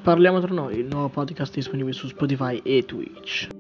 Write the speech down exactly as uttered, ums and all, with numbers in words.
Parliamo tra noi, il nuovo podcast disponibile su Spotify e Twitch.